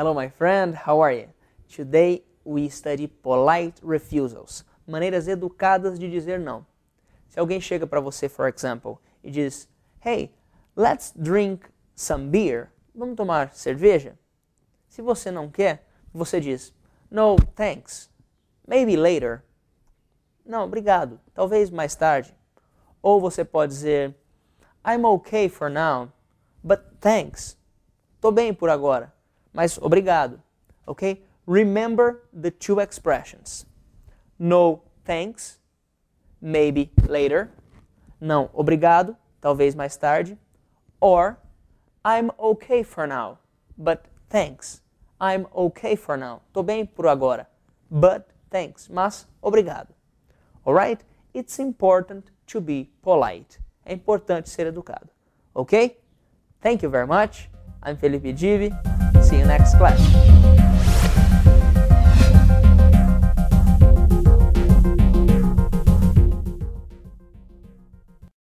Hello, my friend. How are you? Today we study polite refusals. Maneiras educadas de dizer não. Se alguém chega para você, for example, e diz, hey, let's drink some beer. Vamos tomar cerveja? Se você não quer, você diz, no, thanks. Maybe later. Não, obrigado. Talvez mais tarde. Ou você pode dizer, I'm okay for now, but thanks. Tô bem por agora, mas obrigado. Ok? Remember the two expressions. No, thanks. Maybe later. Não, obrigado. Talvez mais tarde. Or, I'm okay for now, but thanks. I'm okay for now. Tô bem por agora, but thanks. Mas obrigado. Alright? It's important to be polite. É importante ser educado. Ok? Thank you very much. I'm Felipe Divi. See you next class.